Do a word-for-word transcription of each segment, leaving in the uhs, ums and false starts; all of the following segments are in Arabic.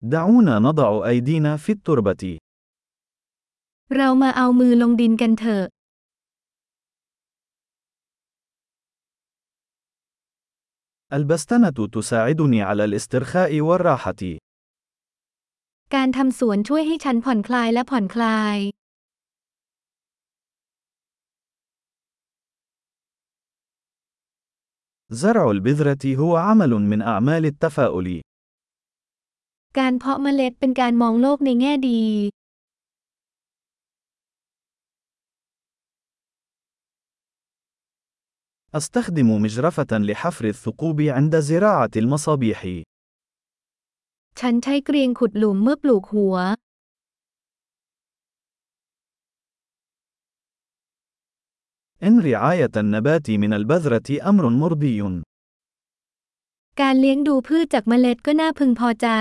دعونا نضع أيدينا في التربة. เรามาเอามือลงดินกันเถอะ البستنة تساعدني على الاسترخاء والراحة. การทำสวนช่วยให้ฉันผ่อนคลายและผ่อนคลาย زرع البذرة هو عمل من أعمال التفاؤل. การเพาะเมล็ดเป็นการมองโลกในแง่ดี أستخدم مجرفة لحفر الثقوب عند زراعة المصابيح. ฉันใช้เกรียงขุดหลุมเมื่อปลูกหัว إن رعاية النبات من البذرة أمر مرضي. การเลี้ยงดูพืชจากเมล็ดก็น่าพึงพอใจ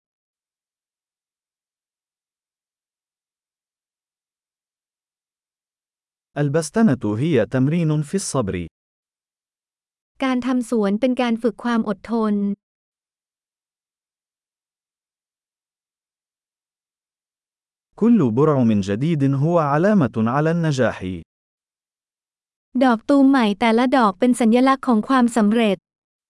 البستنة هي تمرين في الصبر. การทำสวนเป็นการฝึกความอดทน كل برعم جديد هو علامة على النجاح. ดอกตูมใหม่แต่ละดอกเป็นสัญลักษณ์ของความสำเร็จ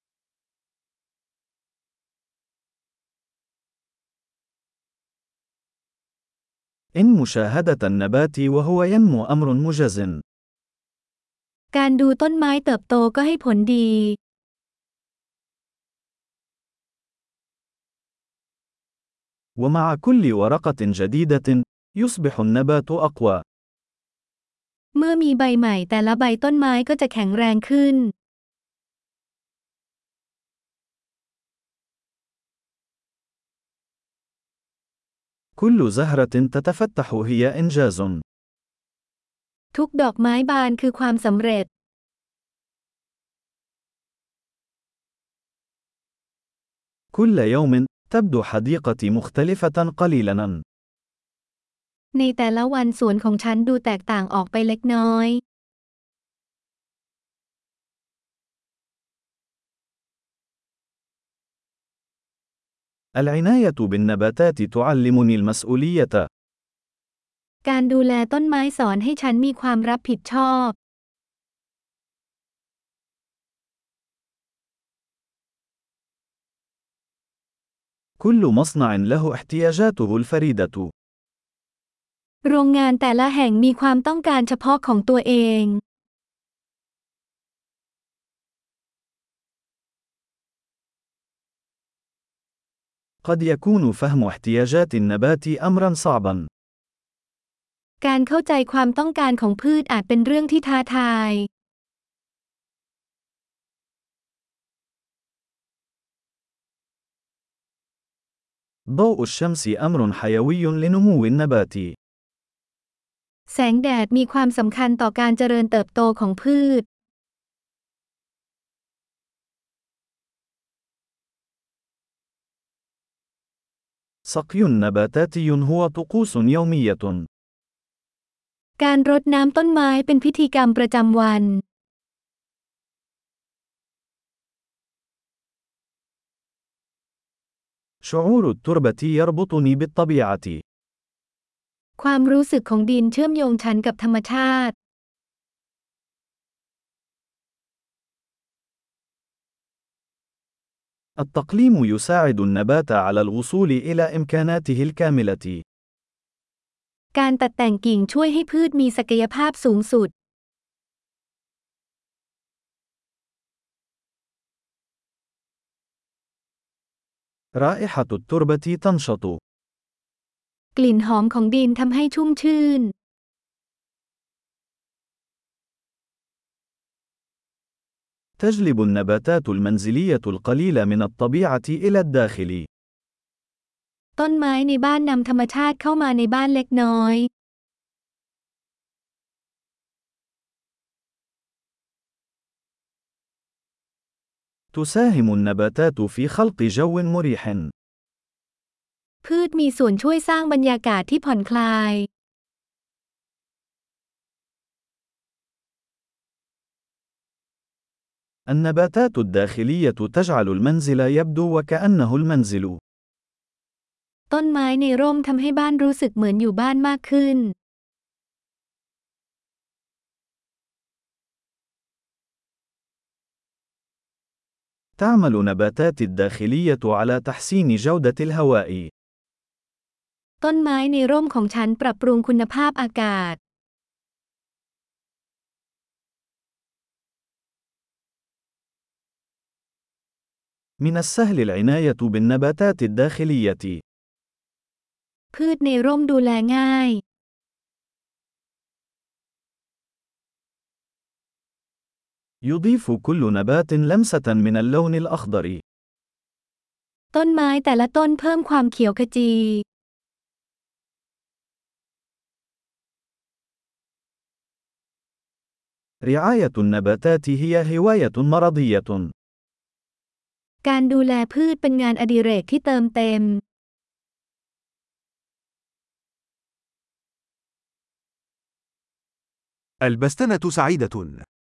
إن مشاهدة النبات وهو ينمو أمر مجز. การดูต้นไม้เติบโตก็ให้ผลดี ومع كل ورقة جديدة يصبح النبات أقوى. เมื่อมีใบใหม่แต่ละใบต้นไม้ก็จะแข็งแรงขึ้น كل زهرة تتفتح هي إنجاز. ทุกดอกไม้บานคือความสำเร็จ كل يوم تبدو حديقتي مختلفة قليلاً. ในแต่ละวันสวนของฉันดูแตกต่างออกไปเล็กน้อย العناية بالنباتات تعلمني المسؤولية. การดูแลต้นไม้สอนให้ฉันมีความรับผิดชอบ كل مصنع له احتياجاته الفريدة. โรงงานแต่ละแห่งมีความต้องการเฉพาะของตัวเอง قد يكون فهم احتياجات النبات أمرا صعبا. การเข้าใจความต้องการของพืชอาจเป็นเรื่องที่ท้าทาย ضوء الشمس أمر حيوي لنمو النبات. แสงแดดมีความสำคัญต่อการเจริญเติบโตของพืช سقي نباتاتي هو طقوس يومية. การรดน้ำต้นไม้เป็นพิธีกรรมประจำวัน شعور التربة يربطني بالطبيعة. ความรู้สึกของดินเชื่อมโยงฉันกับธรรมชาติ التقليم يساعد النبات على الوصول إلى إمكاناته الكاملة. การตัดแต่งกิ่งช่วยให้พืชมีศักยภาพสูงสุด رائحة التربة تنشط. กลิ่นหอมของดินทำให้ชุ่มชื่น تجلب النباتات المنزلية القليلة من الطبيعة إلى الداخل. ต้นไม้ในบ้านนำธรรมชาติเข้ามาในบ้านเล็กน้อย تساهم النباتات في خلق جو مريح. พืชมีส่วนช่วยสร้างบรรยากาศที่ผ่อนคลาย النباتات الداخلية تجعل المنزل يبدو وكأنه المنزل. ต้นไม้ในร่มทำให้บ้านรู้สึกเหมือนอยู่บ้านมากขึ้น تعمل نباتات الداخلية على تحسين جودة الهواء. ต้นไม้ในร่มของฉันปรับปรุงคุณภาพอากาศ من السهل العناية بالنباتات الداخلية. พืชในร่มดูแลง่าย يضيف كل نبات لمسة من اللون الأخضر. ต้นไม้แต่ละต้นเพิ่มความเขียวขจี رعاية النباتات هي هواية مرضية. การดูแลพืชเป็นงานอดิเรกที่เติมเต็ม البستنة سعيدة.